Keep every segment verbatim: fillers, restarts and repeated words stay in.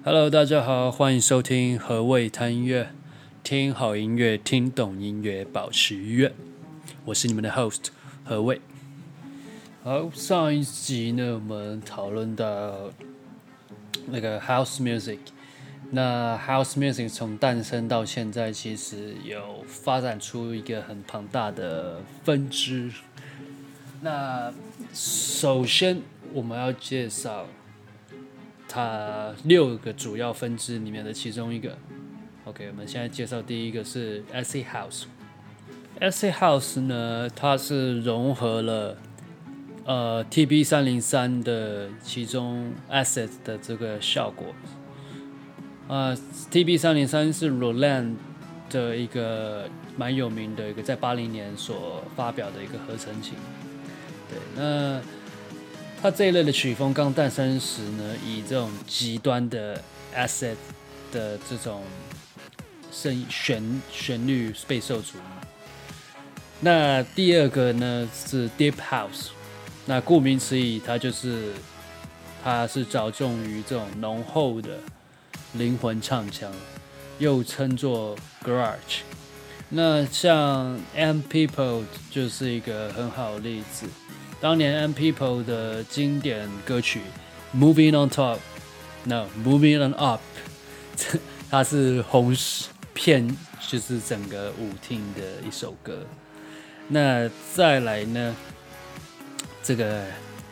Hello， 大家好，歡迎收聽何謂談音樂，聽好音樂，聽懂音樂，保持愉悅。我是你們的 host 何謂。好，上一集呢，我們討論到那個 house music。那 house music 從誕生到現在，其實有發展出一個很龐大的分支。那首先我們要介紹它六個主要分支裡面的其中一個。OK， 我們現在介紹第一個是 Acid House。Acid House 呢，它是融合了呃 T B 三零三的其中 Acid 的這個效果。呃 T B 三零三是 Roland 的一個蠻有名的一個在八零年所發表的一個合成琴。對，那它這一類的曲風剛誕生時呢，以這種極端的 acid 的這種聲旋旋律備受矚目。那第二個呢是 Deep House， 那顧名思義，它就是它是着重於這種濃厚的靈魂唱腔，又稱作 Garage。那像 M People 就是一個很好的例子。當年 M People 的經典歌曲 Moving on Top No Moving on Up 它是紅遍就是整個舞廳的一首歌。那再來呢，這個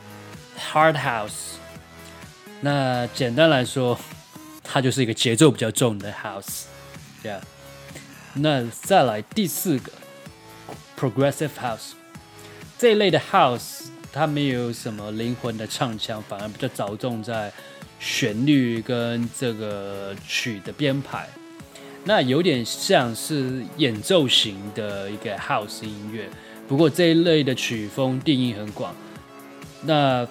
Hard House， 那簡單來說它就是一個節奏比較重的 House， yeah。那再來第四個 Progressive House，這一類的 house， 它沒有什麼靈魂的唱腔，反而比較着重在旋律跟這個曲的編排。那有點像是演奏型的一個 house 音樂，不過這一類的曲風定義很廣。那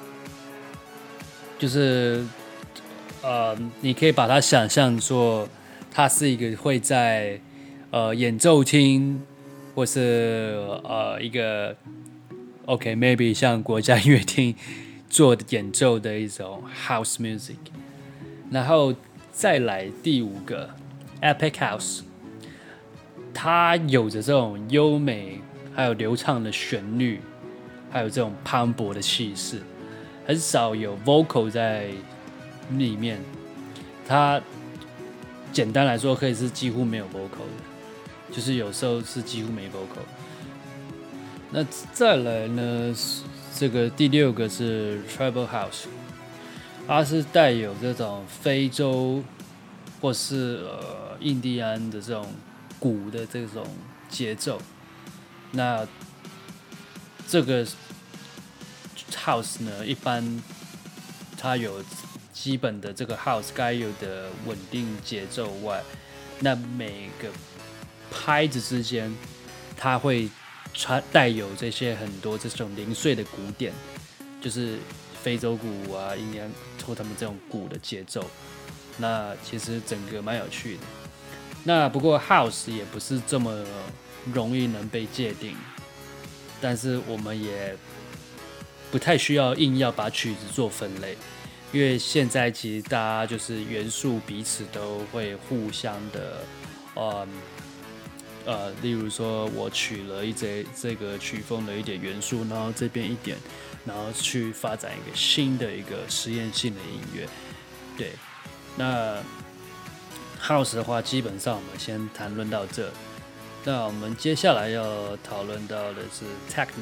就是呃，你可以把它想象作，它是一個會在呃演奏廳或是呃一個。OK，maybe、okay, 像國家音樂廳做的演奏的一種 house music， 然後再來第五個 Epic House， 它有着這種優美還有流暢的旋律，還有這種磅礴的氣勢，很少有 vocal 在裡面。它簡單來說可以是幾乎沒有 vocal 的，就是有時候是幾乎沒 vocal。那再來呢？這個第六個是 Tribal House， 它是帶有這種非洲或是呃印第安的這種鼓的這種節奏。那這個 House 呢，一般它有基本的這個 House 該有的穩定節奏外，那每個拍子之間，它會帶有這些很多這種零碎的鼓點，就是非洲鼓啊、印第安或他們這種鼓的節奏。那其實整個蠻有趣的。那不過 House 也不是這麼容易能被界定，但是我們也不太需要硬要把曲子做分類，因為現在其實大家就是元素彼此都會互相的，嗯。呃，例如說，我取了一這這個曲風的一點元素，然後這邊一點，然後去發展一個新的一個實驗性的音樂。對，那 House 的話，基本上我們先談論到這。那我們接下來要討論到的是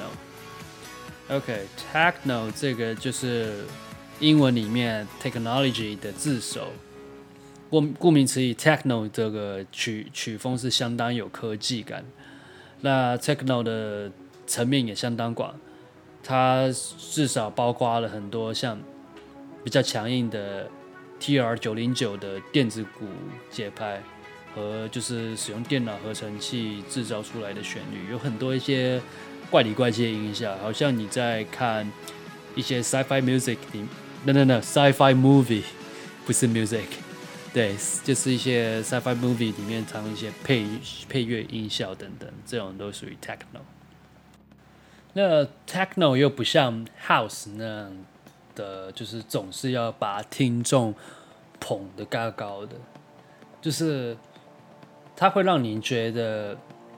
Techno。OK，Techno 這個就是英文裡面 technology 的字首。顧名思義 ，Techno 這個曲曲風是相當有科技感。那 Techno 的層面也相當廣，它至少包括了很多像比較強硬的 T R 九零九 的電子鼓節拍，和就是使用電腦合成器製造出來的旋律，有很多一些怪裡怪氣的音效，好像你在看一些 sci-fi music 裡 ，no no no sci-fi movie 不是 music。對，就是一些 sci-fi movie 裡面藏一些配配樂音效等等，這種都屬於 techno。那 techno 又不像 house 那樣的，就是總是要把聽眾捧得高高的，就是它會讓你覺得，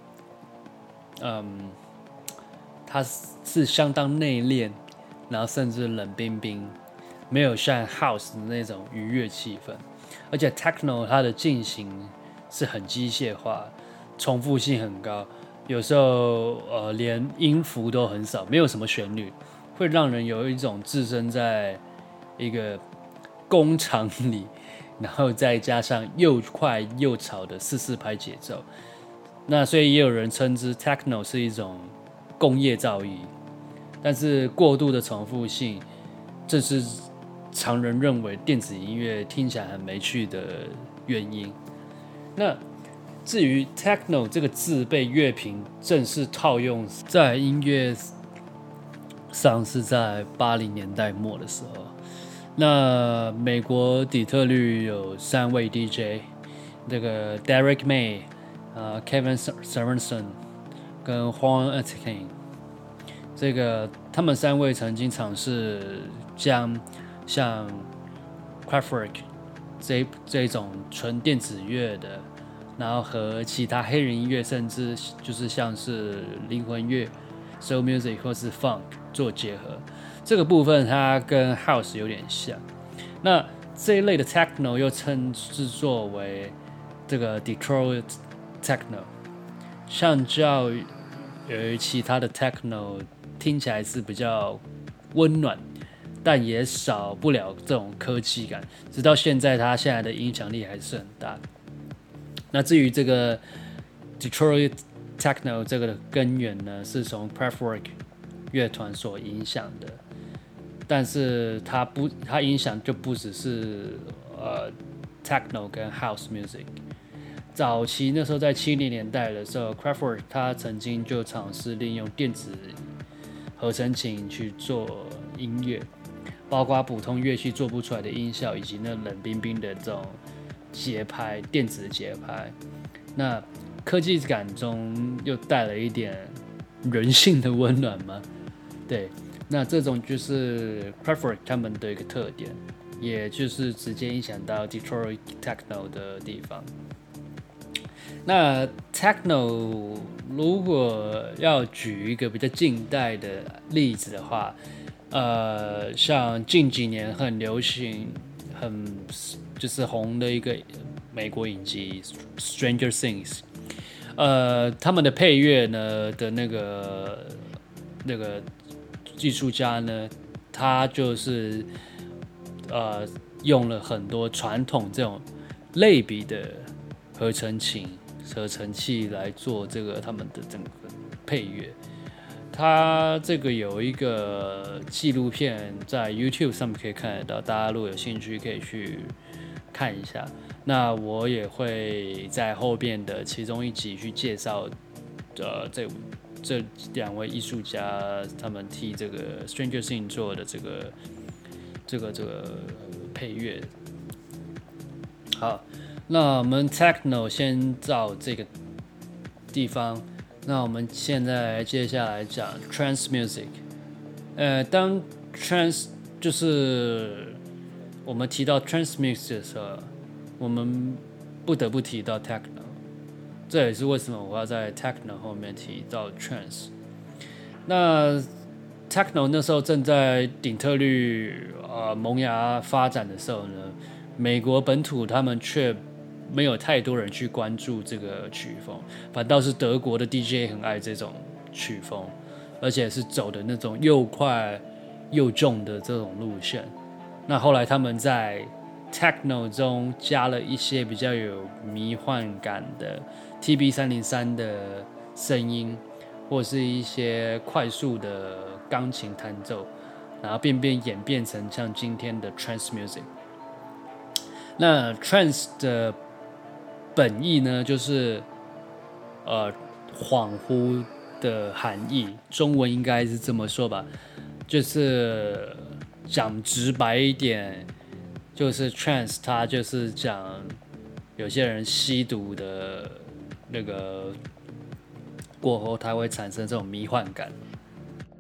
嗯，它是相當內斂，然後甚至冷冰冰，沒有像 House 的那種愉悅氣氛。而且 Techno 它的進行是很機械化，重複性很高，有時候呃連音符都很少，沒有什麼旋律，會讓人有一種置身在一個工廠裡，然後再加上又快又吵的四四拍節奏。那所以也有人稱之 Techno 是一種工業噪音，但是過度的重複性，這是常人認為電子音樂聽起來很沒趣的原因。那至於 Techno 這個字被樂評正式套用在音樂上，是在八零年代末的時候。那美國底特律有三位 D J， 這個 Derek May、uh, Kevin Sorensen 跟 Juan Etkin， 這個他們三位曾經嘗試將像 Kraftwerk 這這種純電子樂的，然後和其他黑人音樂，甚至就是像是靈魂樂 Soul Music 或是 Funk 做結合。這個部分它跟 House 有點像。那這一類的 Techno 又稱之作為這個 Detroit Techno， 相較於其他的 Techno 聽起來是比較溫暖，但也少不了這種科技感。直到現在，它現在的影響力還是很大。那至於這個 Detroit Techno 這個的根源呢，是從 Kraftwerk 樂團所影響的。但是它不，它影響就不只是呃 Techno 跟 House Music。早期那時候在七零年代的時候 ，Kraftwerk 他曾經就嘗試利用電子合成琴去做音樂，包括普通樂器做不出來的音效，以及那冷冰冰的這種節拍，電子節拍。那科技感中又帶了一點人性的溫暖嗎？對。那這種就是 Kraftwerk 他們的一個特點，也就是直接影響到 Detroit Techno 的地方。那 Techno 如果要舉一個比較近代的例子的話，呃，像近幾年很流行、很就是紅的一個美國影集 Stranger Things， 呃，他們的配樂呢的那個那個。藝術家呢，他就是呃用了很多傳統這種類比的合成琴、合成器來做這個他們的整個配樂。他這個有一個紀錄片在 YouTube 上面可以看得到，大家如果有興趣可以去看一下。那我也會在後邊的其中一集去介紹呃這這兩位藝術家他們替這個 Stranger Things 做的這個這個這個配樂。好，那我們 Techno 先到這個地方，那我們現在接下來講 Trance Music。呃，當 Trance 就是我們提到 Trance Music 的時候，我們不得不提到 Techno。這也是為什麼我要在 Techno 後面提到 Trance。那 Techno 那時候正在底特律呃萌芽發展的時候呢，美國本土他們卻沒有太多人去關注這個曲風，反倒是德國的 D J 很愛這種曲風，而且是走的那種又快又重的這種路線。那後來他們在 Techno 中加了一些比較有迷幻感的 T B 三零三 的聲音，或是一些快速的鋼琴彈奏，然後便便演變成像今天的 Trance Music。那 Trance 的本意呢，就是呃恍惚的含義，中文應該是這麼說吧，就是講直白一點，就是 Trance 它就是講有些人吸毒的那個過後，它會產生這種迷幻感。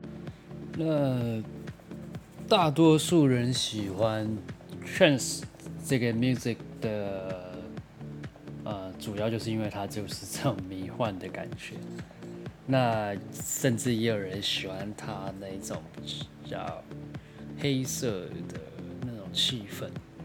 那大多數人喜歡 Trance 這個 music 的呃，主要就是因為它就是這種迷幻的感覺。那甚至也有人喜歡它那種比較黑色的那種氣氛。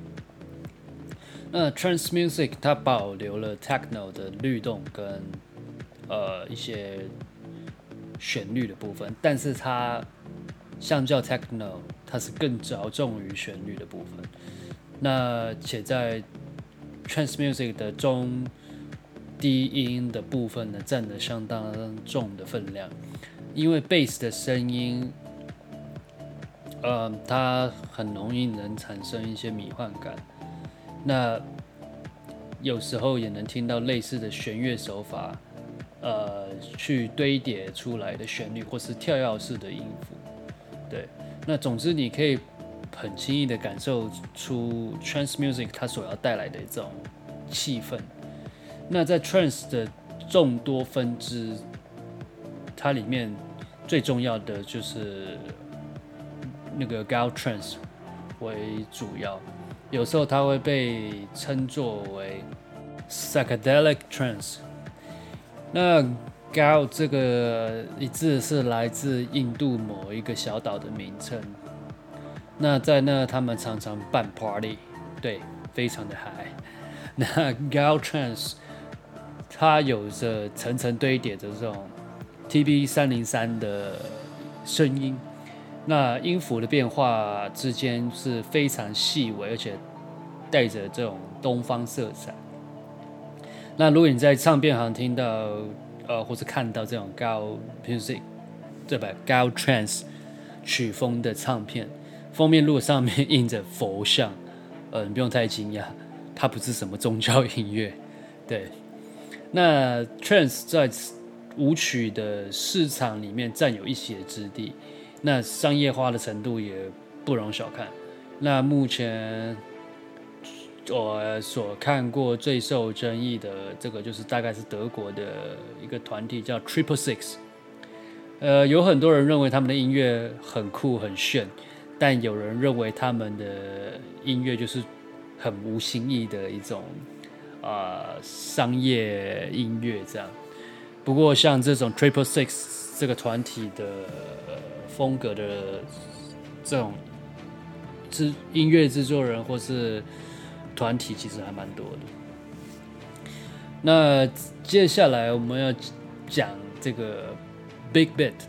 那 Trance Music 它保留了 Techno 的律動跟呃一些旋律的部分，但是它相較 Techno 它是更着重於旋律的部分。那且在 Trance Music 的中低音的部分呢，佔了相當重的分量，因為 Bass 的聲音，呃，它很容易能產生一些迷幻感。那有時候也能聽到類似的弦樂手法，呃，去堆疊出來的旋律，或是跳躍式的音符。對，那總之你可以很輕易的感受出 Trance Music 它所要帶來的這種氣氛。那在 Trance 的眾多分支，它裡面最重要的就是那個 Gao Trance 為主要。有時候它會被稱作為 Psychedelic Trance。那 Gao 這個一字是來自印度某一個小島的名稱。那在那他們常常辦 party， 對，非常的嗨。那 Gao Trance 它有着層層堆疊的這種 T B 三零三的聲音。那音符的變化之間是非常細微，而且帶着這種東方色彩。那如果你在唱片行聽到，呃，或是看到這種 Gao Music， 對吧 ？Gao Trance 曲風的唱片，封面如果上面印着佛像，呃，你不用太驚訝，它不是什麼宗教音樂，對。那 Trance 在舞曲的市場裡面佔有一席之地。那商業化的程度也不容小看。那目前我所看過最受爭議的這個，就是大概是德國的一個團體叫 Triple Six。呃，有很多人認為他們的音樂很酷很炫，但有人認為他們的音樂就是很無新意的一種啊、呃、商業音樂這樣。不過像這種 Triple Six 這個團體的風格的這種制音樂製作人或是團體其實還蠻多的。那接下來我們要講這個 Big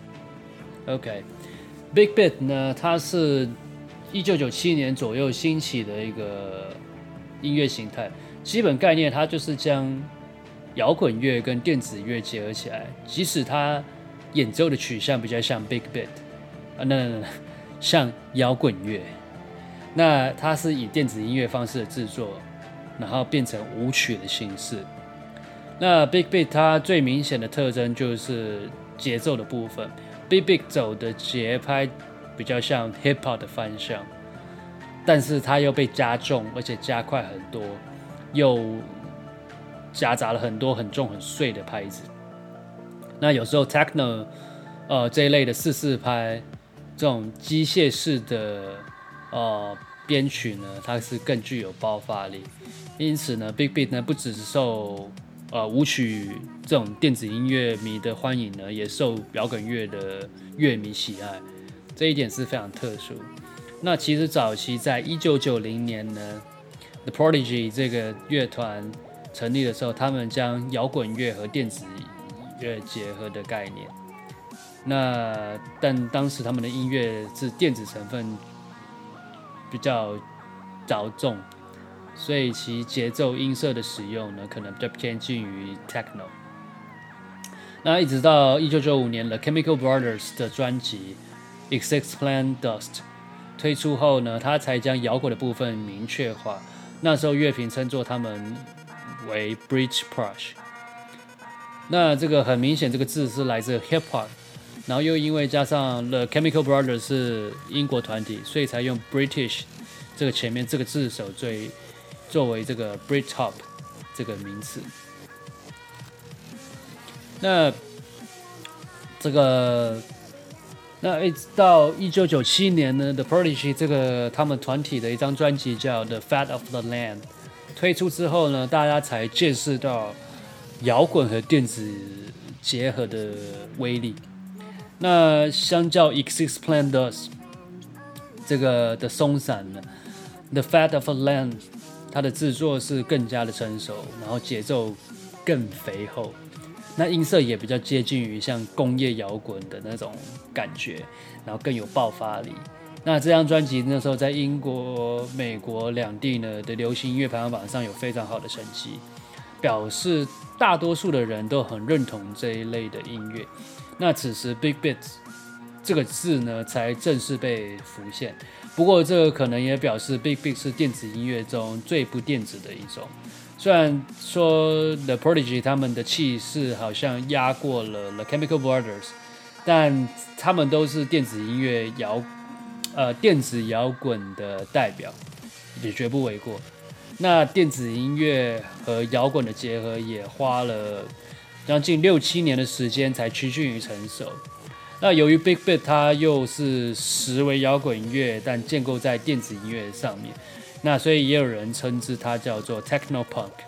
Beat。OK，Big Beat 呢，它是一九九七年左右興起的一個音樂形態。基本概念，它就是將搖滾樂跟電子樂結合起來，即使它演奏的取向比較像 Big Beat。啊，那像搖滾樂，那它是以電子音樂方式的制作，然後變成舞曲的形式。那 Big Beat 它最明顯的特徵就是節奏的部分 ，Big Beat 走的節拍比較像 Hip Hop 的方向，但是它又被加重，而且加快很多，又夾雜了很多很重很碎的拍子。那有時候 Techno 呃這一類的四四拍。這種機械式的呃編曲呢，它是更具有爆發力，因此呢 ，Big Beat 呢不只是受呃舞曲這種電子音樂迷的歡迎呢，也受搖滾樂的樂迷喜愛，這一點是非常特殊。那其實早期在一九九零年呢 ，The Prodigy 這個樂團成立的時候，他們將搖滾樂和電子樂結合的概念。那但當時他們的音樂是電子成分比較着重，所以其節奏音色的使用呢，可能比較偏近於 Techno。那一直到一九九五年 The Chemical Brothers 的專輯 Excess Dust 推出後呢，他才將搖滾的部分明確化。那時候樂評稱作他們為 Britpop。那這個很明顯，這個字是來自 Hip Hop。然後又因為加上 The Chemical Brothers 是英國團體，所以才用 British 這個前面這個字首最作為這個 Britpop 這個名詞。那這個那一直到一九九七年呢 ，The Prodigy 這個他們團體的一張專輯叫《The Fat of the Land》推出之後呢，大家才見識到搖滾和電子結合的威力。那相較 X-Six-Plan-Dos 這個的鬆散呢，《The Fat of the Land》它的制作是更加的成熟，然後節奏更肥厚。那音色也比較接近於像工業搖滾的那種感覺，然後更有爆發力。那這張專輯那時候在英國、美國兩地呢的流行音樂排行榜上有非常好的成績，表示大多數的人都很認同這一類的音樂。那此時 Big Beat 這個字呢才正式被浮現。不過這個可能也表示 Big Beat 是電子音樂中最不電子的一種。雖然說 The Prodigy 他們的氣勢好像壓過了 The Chemical Brothers， 但他們都是電子音樂搖呃電子搖滾的代表，也絕不為過。那電子音樂和搖滾的結合也花了將近六七年的時間才趨近於成熟。那由於 Big Beat 它又是實為搖滾音樂，但建構在電子音樂上面。那所以也有人稱之它叫做 Techno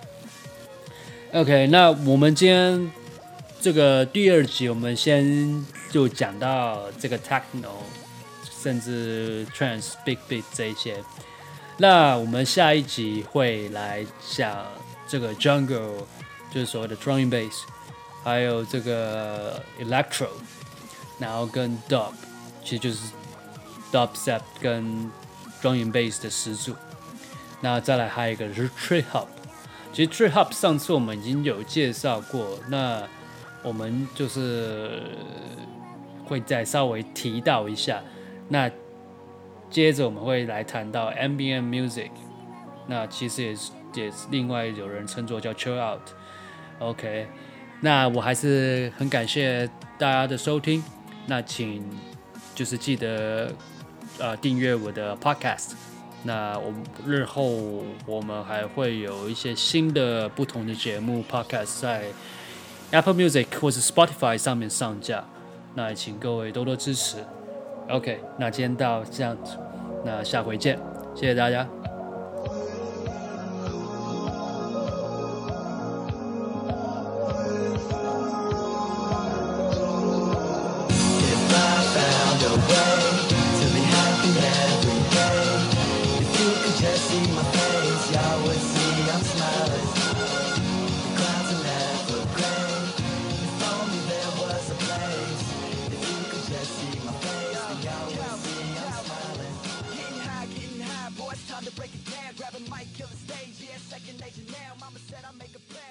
Punk。OK， 那我們今天這個第二集，我們先就講到這個 Techno， 甚至 Trance、Big Beat 這一些。那我們下一集會來講這個 Jungle， 就是所謂的 Drum and Bass， 還有這個 Electro， 然後跟 Dub， 其實就是 Dubstep 跟 Drum and Bass 的始祖。那再來還有一個是 Trip Hop， 其實 Trip Hop 上次我們已經有介紹過，那我們就是會再稍微提到一下。那接着我們會來談到 Ambient Music， 那其實也是也是另外有人稱作叫 Chill Out。OK， 那我還是很感謝大家的收聽，那請就是記得呃訂閱我的 Podcast。那我們日後我們還會有一些新的不同的節目 Podcast 在 Apple Music 或是 Spotify 上面上架，那也請各位多多支持。OK， 那今天到這樣子，那下回見，謝謝大家。 Time to break it down, grab a mic, kill the stage, yeah, second nature now. Mama said I make a plan.